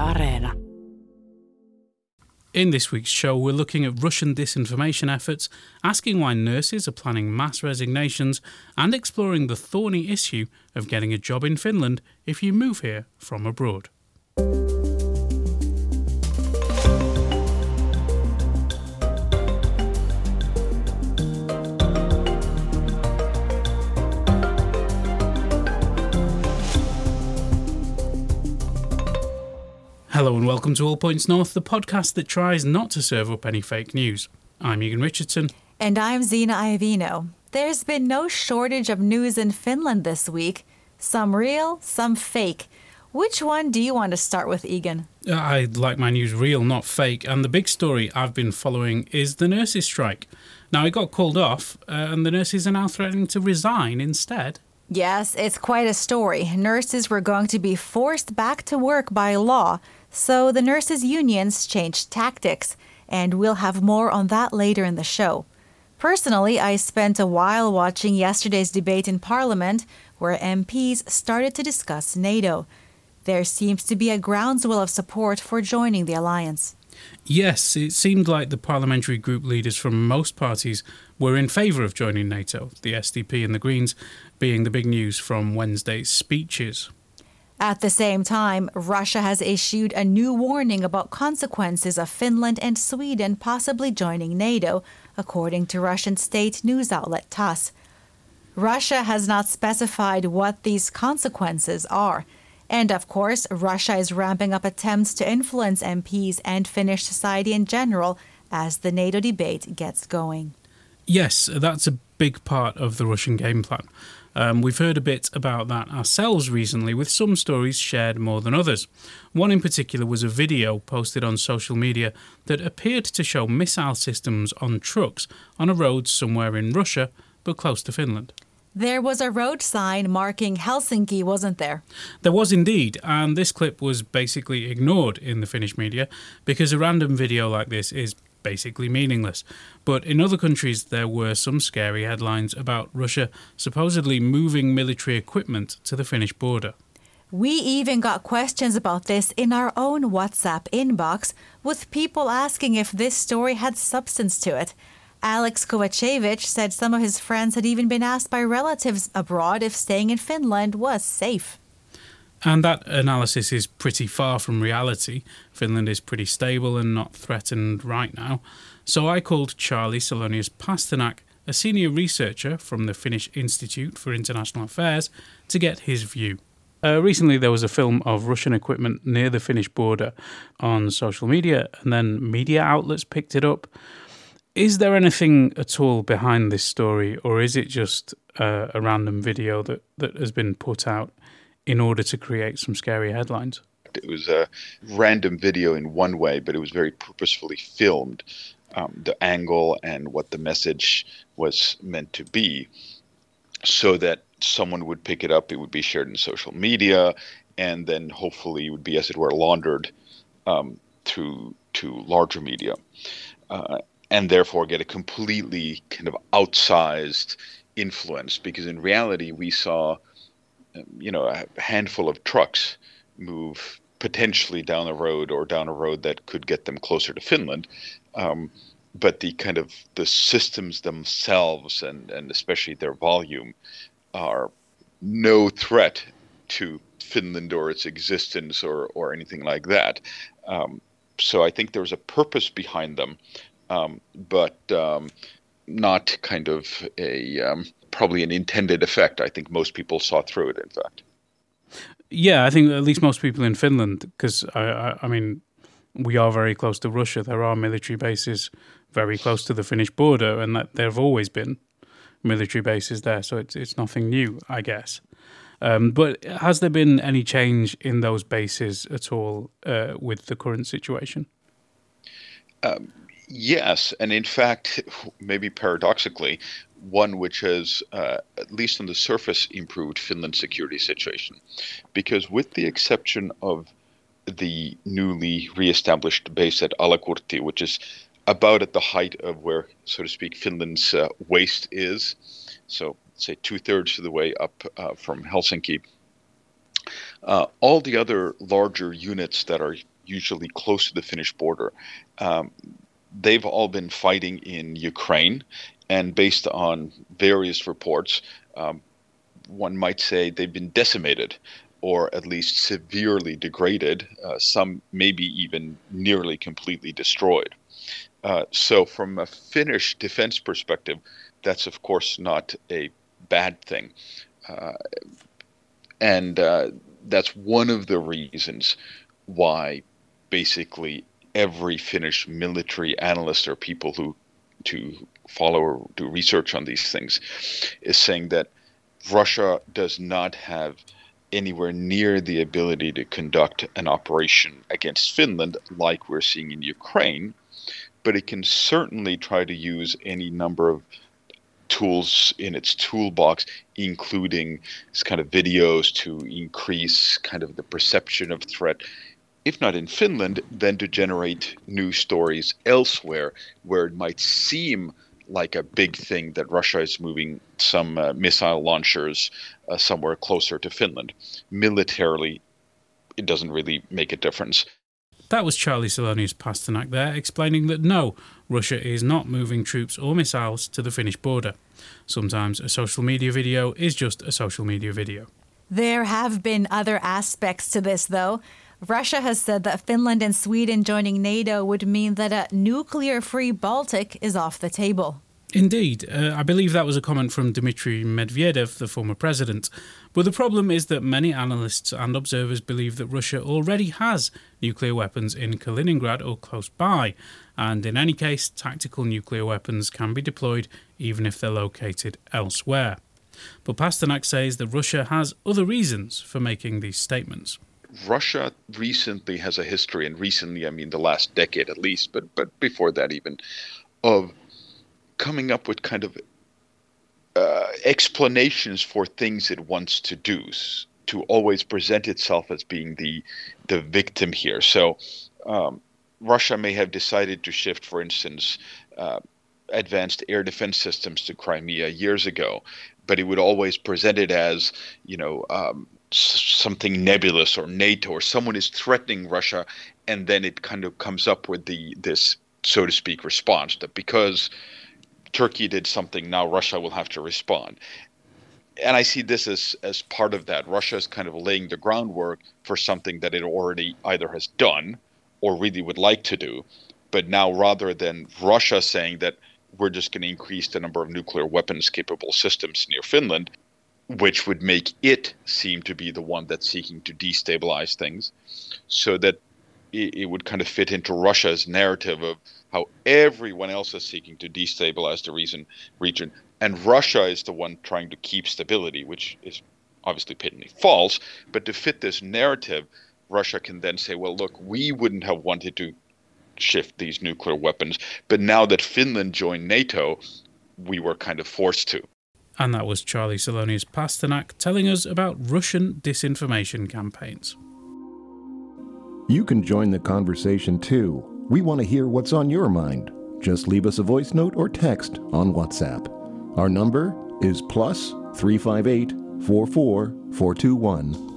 Areena. In this week's show, we're looking at Russian disinformation efforts, asking why nurses are planning mass resignations, and exploring the thorny issue of getting a job in Finland if you move here from abroad. Hello and welcome to All Points North, the podcast that tries not to serve up any fake news. I'm Egan Richardson. And I'm Zena Iovino. There's been no shortage of news in Finland this week. Some real, some fake. Which one do you want to start with, Egan? I'd like my news real, not fake. And the big story I've been following is the nurses' strike. Now, it got called off, and the nurses are now threatening to resign instead. Yes, it's quite a story. Nurses were going to be forced back to work by law, so the nurses' unions changed tactics, and we'll have more on that later in the show. Personally, I spent a while watching yesterday's debate in Parliament, where MPs started to discuss NATO. There seems to be a groundswell of support for joining the alliance. Yes, it seemed like the parliamentary group leaders from most parties were in favour of joining NATO, the SDP and the Greens being the big news from Wednesday's speeches. At the same time, Russia has issued a new warning about consequences of Finland and Sweden possibly joining NATO, according to Russian state news outlet TASS. Russia has not specified what these consequences are. And of course, Russia is ramping up attempts to influence MPs and Finnish society in general as the NATO debate gets going. Yes, that's a big part of the Russian game plan. We've heard a bit about that ourselves recently, with some stories shared more than others. One in particular was a video posted on social media that appeared to show missile systems on trucks on a road somewhere in Russia, but close to Finland. There was a road sign marking Helsinki, wasn't there? There was indeed, and this clip was basically ignored in the Finnish media because a random video like this is basically meaningless. But in other countries there were some scary headlines about Russia supposedly moving military equipment to the Finnish border. We even got questions about this in our own WhatsApp inbox, with people asking if this story had substance to it. Alex Kovacevic said some of his friends had even been asked by relatives abroad if staying in Finland was safe. And that analysis is pretty far from reality. Finland is pretty stable and not threatened right now. So I called Charlie Salonius Pasternak, a senior researcher from the Finnish Institute for International Affairs, to get his view. Recently there was a film of Russian equipment near the Finnish border on social media, and then media outlets picked it up. Is there anything at all behind this story, or is it just a random video that has been put out in order to create some scary headlines? It was a random video in one way, but it was very purposefully filmed, the angle and what the message was meant to be, so that someone would pick it up, it would be shared in social media, and then hopefully it would be, as it were, laundered to larger media. And therefore get a completely kind of outsized influence, because in reality we saw, a handful of trucks move potentially down a road that could get them closer to Finland. But the systems themselves and especially their volume are no threat to Finland or its existence or anything like that. So I think there's a purpose behind them. But not kind of probably an intended effect. I think most people saw through it, in fact. Yeah, I think at least most people in Finland, because, I mean, we are very close to Russia. There are military bases very close to the Finnish border, and that there have always been military bases there, so it's nothing new, I guess. But has there been any change in those bases at all with the current situation? Yes, and in fact, maybe paradoxically, one which has, at least on the surface, improved Finland's security situation. Because with the exception of the newly reestablished base at Alakurtti, which is about at the height of where, so to speak, Finland's waist is, so say 2/3 of the way up from Helsinki, all the other larger units that are usually close to the Finnish border. They've all been fighting in Ukraine, and based on various reports, one might say they've been decimated, or at least severely degraded, some maybe even nearly completely destroyed. So from a Finnish defense perspective, that's of course not a bad thing. And that's one of the reasons why basically every Finnish military analyst or people who follow or do research on these things is saying that Russia does not have anywhere near the ability to conduct an operation against Finland like we're seeing in Ukraine, but it can certainly try to use any number of tools in its toolbox, including this kind of videos to increase kind of the perception of threat, if not in Finland, then to generate news stories elsewhere where it might seem like a big thing that Russia is moving some missile launchers somewhere closer to Finland. Militarily, it doesn't really make a difference. That was Charlie Salonius Pasternak there, explaining that no, Russia is not moving troops or missiles to the Finnish border. Sometimes a social media video is just a social media video. There have been other aspects to this, though. Russia has said that Finland and Sweden joining NATO would mean that a nuclear-free Baltic is off the table. Indeed. I believe that was a comment from Dmitry Medvedev, the former president. But the problem is that many analysts and observers believe that Russia already has nuclear weapons in Kaliningrad or close by. And in any case, tactical nuclear weapons can be deployed even if they're located elsewhere. But Pasternak says that Russia has other reasons for making these statements. Russia recently has a history, and recently I mean the last decade at least, but before that even, of coming up with kind of explanations for things it wants to do, to always present itself as being the victim here. So Russia may have decided to shift, for instance, advanced air defense systems to Crimea years ago, but it would always present it as, something nebulous or NATO or someone is threatening Russia, and then it kind of comes up with this, so to speak, response that because Turkey did something, now Russia will have to respond. And I see this as part of that. Russia is kind of laying the groundwork for something that it already either has done or really would like to do. But now rather than Russia saying that we're just going to increase the number of nuclear weapons capable systems near Finland, which would make it seem to be the one that's seeking to destabilize things, so that it would kind of fit into Russia's narrative of how everyone else is seeking to destabilize the region, and Russia is the one trying to keep stability, which is obviously patently false. But to fit this narrative, Russia can then say, well, look, we wouldn't have wanted to shift these nuclear weapons, but now that Finland joined NATO, we were kind of forced to. And that was Charlie Salonius Pasternak telling us about Russian disinformation campaigns. You can join the conversation too. We want to hear what's on your mind. Just leave us a voice note or text on WhatsApp. Our number is +358 44 421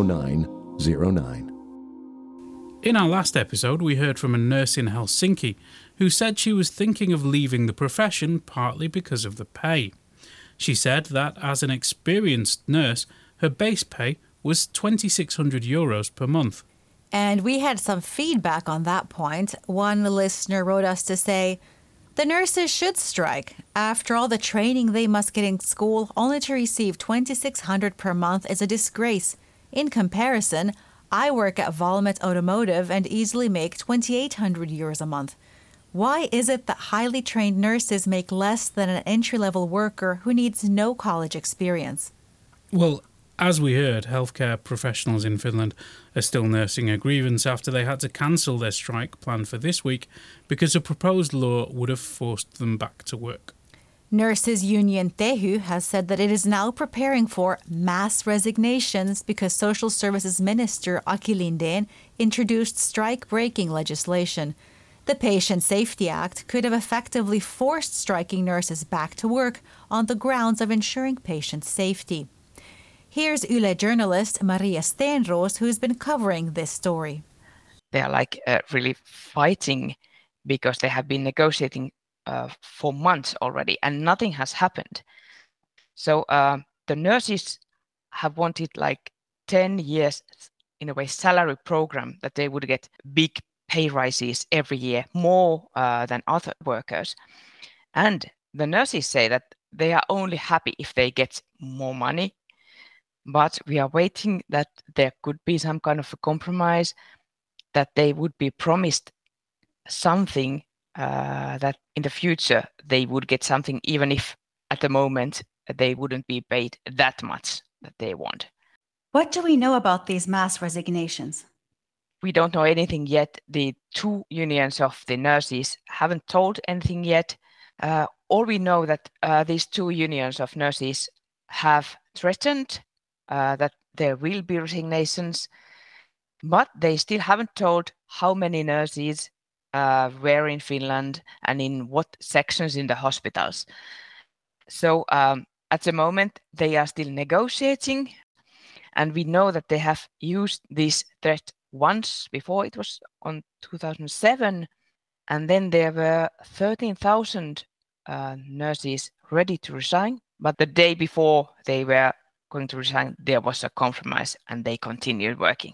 0909. In our last episode, we heard from a nurse in Helsinki who said she was thinking of leaving the profession partly because of the pay. She said that as an experienced nurse, her base pay was €2,600 per month. And we had some feedback on that point. One listener wrote us to say, the nurses should strike. After all the training they must get in school, only to receive $2,600 per month is a disgrace. In comparison, I work at Valmet Automotive and easily make €2,800 a month. Why is it that highly trained nurses make less than an entry-level worker who needs no college experience? Well, as we heard, healthcare professionals in Finland are still nursing a grievance after they had to cancel their strike planned for this week because a proposed law would have forced them back to work. Nurses Union Tehy has said that it is now preparing for mass resignations because Social Services Minister Aki Lindén introduced strike-breaking legislation. The Patient Safety Act could have effectively forced striking nurses back to work on the grounds of ensuring patient safety. Here's Yle journalist Maria Stenros, who's been covering this story. they are like really fighting because they have been negotiating for months already and nothing has happened. So the nurses have wanted like 10 years in a way salary program that they would get big pay rises every year, more than other workers. And the nurses say that they are only happy if they get more money, but we are waiting that there could be some kind of a compromise, that they would be promised something, that in the future they would get something, even if at the moment they wouldn't be paid that much that they want. What do we know about these mass resignations? We don't know anything yet. The two unions of the nurses haven't told anything yet. All we know that these two unions of nurses have threatened that there will be resignations, but they still haven't told how many nurses were in Finland and in what sections in the hospitals. So at the moment, they are still negotiating, and we know that they have used this threat once before. It was on 2007, and then there were 13,000 nurses ready to resign. But the day before they were going to resign, there was a compromise and they continued working.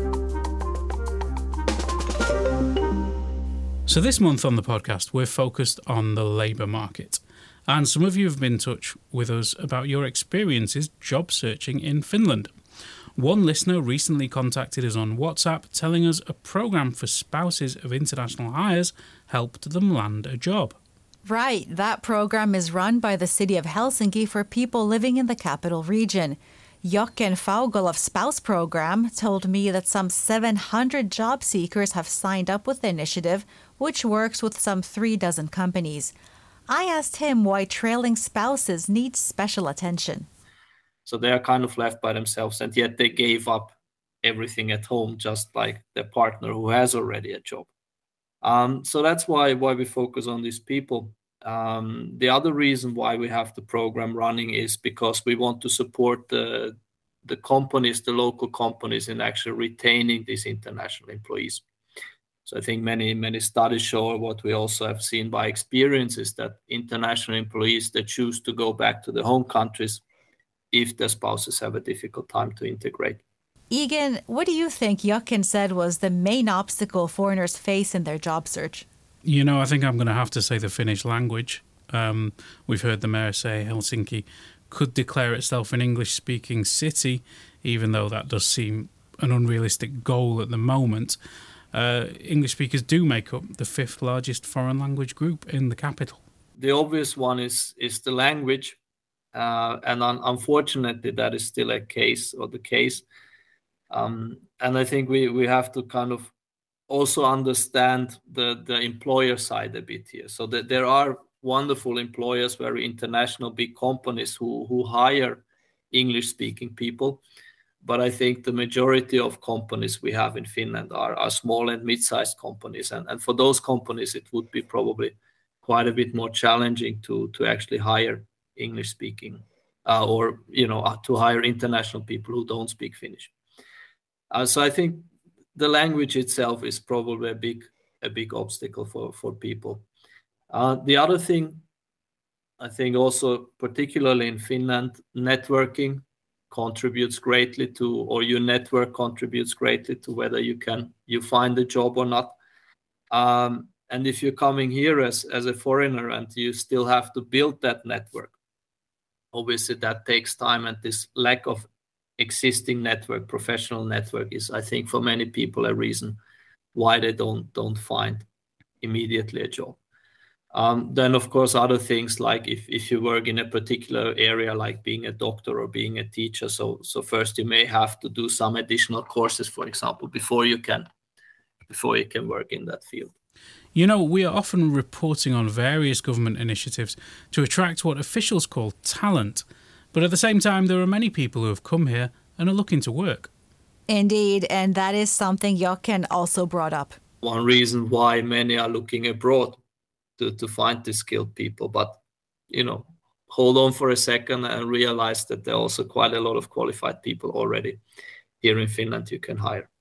So this month on the podcast, we're focused on the labour market. And some of you have been in touch with us about your experiences job searching in Finland. One listener recently contacted us on WhatsApp telling us a programme for spouses of international hires helped them land a job. Right, that program is run by the city of Helsinki for people living in the capital region. Jochen Faugel of Spouse Program told me that some 700 job seekers have signed up with the initiative, which works with some 36 companies. I asked him why trailing spouses need special attention. So they are kind of left by themselves, and yet they gave up everything at home, just like their partner who has already a job. So that's why we focus on these people. The other reason why we have the program running is because we want to support the companies, the local companies, in actually retaining these international employees. So I think many studies show, what we also have seen by experience, is that international employees, they choose to go back to their home countries if their spouses have a difficult time to integrate. Egan, what do you think Jochen said was the main obstacle foreigners face in their job search? You know, I think I'm going to have to say the Finnish language. We've heard the mayor say Helsinki could declare itself an English-speaking city, even though that does seem an unrealistic goal at the moment. English speakers do make up the 5th largest foreign language group in the capital. The obvious one is the language, and unfortunately that is still the case. And I think we have to kind of also understand the employer side a bit here. So that there are wonderful employers, very international big companies who hire English-speaking people. But I think the majority of companies we have in Finland are small and mid-sized companies. And for those companies, it would be probably quite a bit more challenging to actually hire English-speaking or to hire international people who don't speak Finnish. So I think the language itself is probably a big obstacle for people. The other thing, I think also particularly in Finland, networking contributes greatly to, or your network contributes greatly to whether you find a job or not. And if you're coming here as a foreigner and you still have to build that network, obviously that takes time, and this lack of existing network, professional network, is, I think, for many people a reason why they don't find immediately a job. Then, of course, other things like if you work in a particular area, like being a doctor or being a teacher, so first you may have to do some additional courses, for example, before you can work in that field. You know, we are often reporting on various government initiatives to attract what officials call talent. But at the same time, there are many people who have come here and are looking to work. Indeed, and that is something Jochen also brought up. One reason why many are looking abroad to find these skilled people. But, hold on for a second and realize that there are also quite a lot of qualified people already here in Finland you can hire.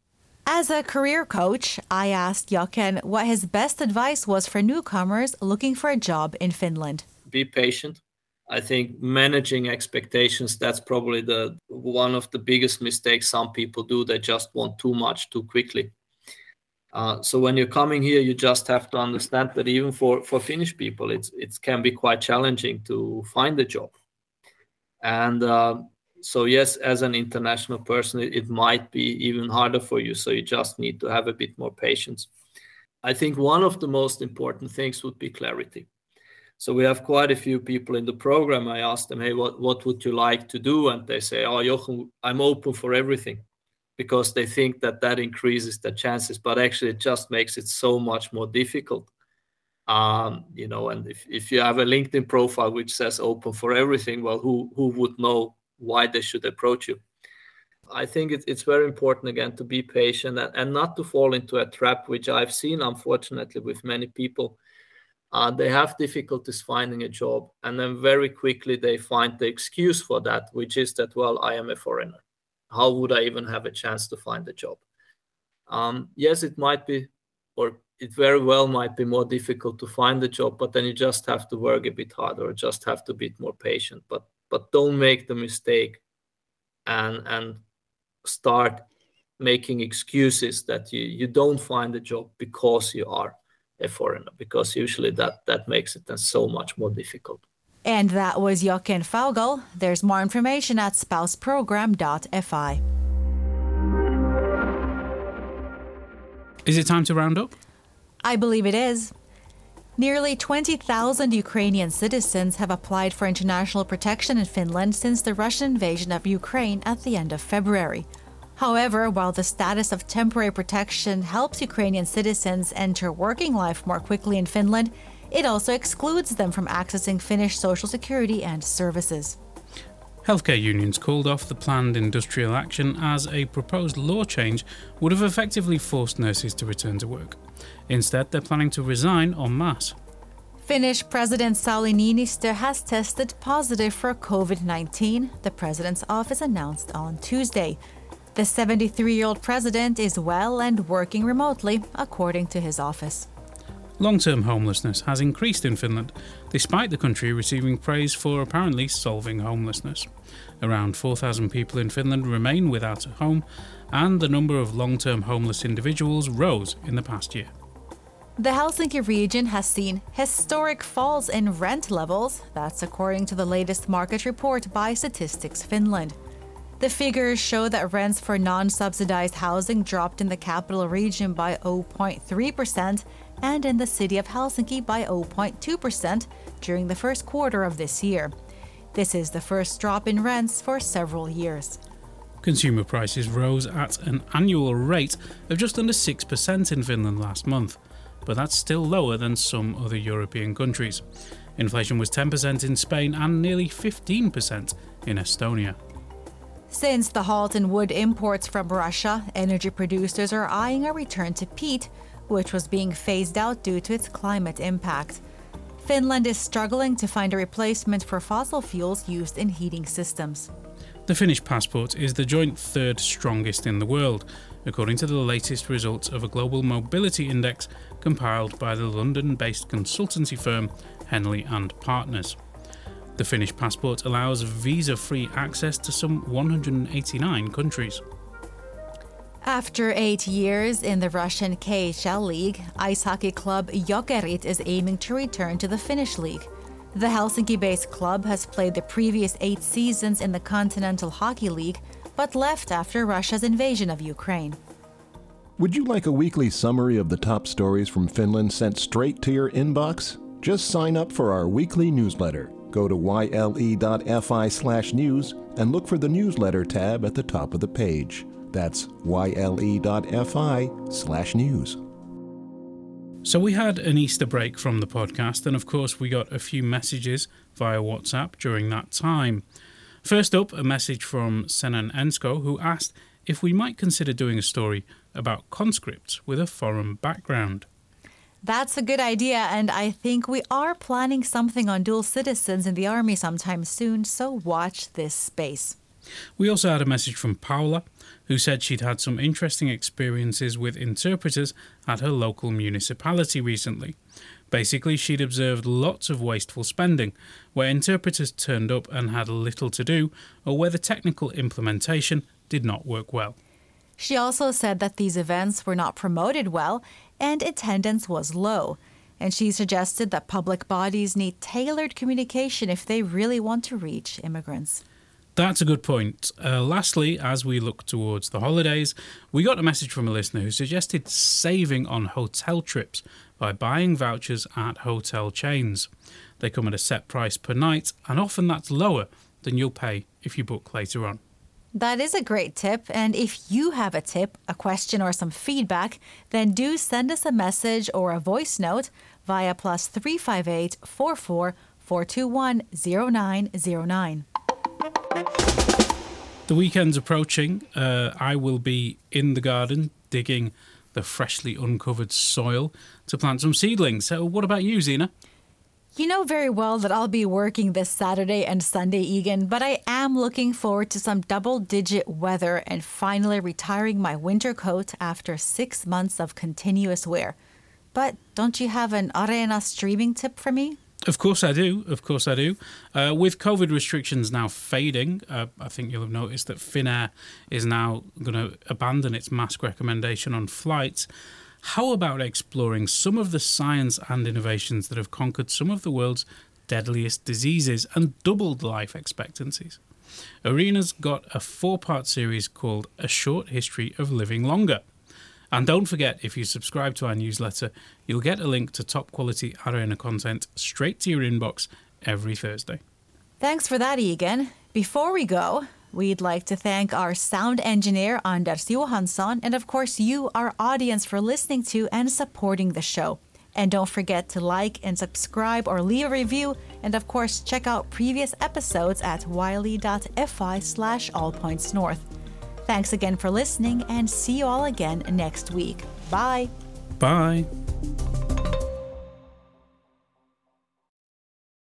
As a career coach, I asked Jochen what his best advice was for newcomers looking for a job in Finland. Be patient. I think managing expectations, that's probably one of the biggest mistakes some people do. They just want too much too quickly. So when you're coming here, you just have to understand that even for Finnish people, it can be quite challenging to find a job. And so yes, as an international person, it might be even harder for you. So you just need to have a bit more patience. I think one of the most important things would be clarity. So we have quite a few people in the program. I asked them, hey, what would you like to do? And they say, oh, Jochen, I'm open for everything, because they think that increases the chances. But actually, it just makes it so much more difficult. And if you have a LinkedIn profile which says open for everything, well, who would know why they should approach you? I think it's very important, again, to be patient and not to fall into a trap, which I've seen, unfortunately, with many people. They have difficulties finding a job, and then very quickly they find the excuse for that, which is that, well, I am a foreigner. How would I even have a chance to find a job? Yes, it might be, or it very well might be more difficult to find a job, but then you just have to work a bit harder, or just have to be more patient. But don't make the mistake and start making excuses that you don't find a job because you are a foreigner, because usually that makes it then so much more difficult. And that was Jochen Faugel. There's more information at spouseprogram.fi. Is it time to round up? I believe it is. Nearly 20,000 Ukrainian citizens have applied for international protection in Finland since the Russian invasion of Ukraine at the end of February. However, while the status of temporary protection helps Ukrainian citizens enter working life more quickly in Finland, it also excludes them from accessing Finnish social security and services. Healthcare unions called off the planned industrial action as a proposed law change would have effectively forced nurses to return to work. Instead, they're planning to resign en masse. Finnish President Sauli Niinistö has tested positive for COVID-19, the president's office announced on Tuesday. The 73-year-old president is well and working remotely, according to his office. Long-term homelessness has increased in Finland, despite the country receiving praise for apparently solving homelessness. Around 4,000 people in Finland remain without a home, and the number of long-term homeless individuals rose in the past year. The Helsinki region has seen historic falls in rent levels. That's according to the latest market report by Statistics Finland. The figures show that rents for non-subsidized housing dropped in the capital region by 0.3% and in the city of Helsinki by 0.2% during the first quarter of this year. This is the first drop in rents for several years. Consumer prices rose at an annual rate of just under 6% in Finland last month, but that's still lower than some other European countries. Inflation was 10% in Spain and nearly 15% in Estonia. Since the halt in wood imports from Russia, energy producers are eyeing a return to peat, which was being phased out due to its climate impact. Finland is struggling to find a replacement for fossil fuels used in heating systems. The Finnish passport is the joint third strongest in the world, according to the latest results of a global mobility index compiled by the London-based consultancy firm Henley & Partners. The Finnish passport allows visa-free access to some 189 countries. After 8 years in the Russian KHL League, ice hockey club Jokerit is aiming to return to the Finnish league. The Helsinki-based club has played the previous 8 seasons in the Continental Hockey League, but left after Russia's invasion of Ukraine. Would you like a weekly summary of the top stories from Finland sent straight to your inbox? Just sign up for our weekly newsletter. Go to yle.fi/news and look for the newsletter tab at the top of the page. That's yle.fi/news. So we had an Easter break from the podcast, and of course we got a few messages via WhatsApp during that time. First up, a message from Senan Ensko, who asked if we might consider doing a story about conscripts with a foreign background. That's a good idea, and I think we are planning something on dual citizens in the army sometime soon, so watch this space. We also had a message from Paula, who said she'd had some interesting experiences with interpreters at her local municipality recently. Basically, she'd observed lots of wasteful spending, where interpreters turned up and had little to do, or where the technical implementation did not work well. She also said that these events were not promoted well and attendance was low. And she suggested that public bodies need tailored communication if they really want to reach immigrants. That's a good point. Lastly, as we look towards the holidays, we got a message from a listener who suggested saving on hotel trips by buying vouchers at hotel chains. They come at a set price per night, and often that's lower than you'll pay if you book later on. That is a great tip, and if you have a tip, a question or some feedback, then do send us a message or a voice note via +358 44 421 0909. The weekend's approaching. I will be in the garden digging the freshly uncovered soil to plant some seedlings. So what about you, Zena? You know very well that I'll be working this Saturday and Sunday, Egan, but I am looking forward to some double-digit weather and finally retiring my winter coat after 6 months of continuous wear. But don't you have an Areena streaming tip for me? Of course I do. With COVID restrictions now fading, I think you'll have noticed that Finnair is now going to abandon its mask recommendation on flights. How about exploring some of the science and innovations that have conquered some of the world's deadliest diseases and doubled life expectancies? Areena's got a 4-part series called A Short History of Living Longer. And don't forget, if you subscribe to our newsletter, you'll get a link to top-quality Areena content straight to your inbox every Thursday. Thanks for that, Egan. Before we go, we'd like to thank our sound engineer, Anders Johansson, and of course you, our audience, for listening to and supporting the show. And don't forget to like and subscribe or leave a review, and of course check out previous episodes at wiley.fi/allpointsnorth. Thanks again for listening, and see you all again next week. Bye. Bye.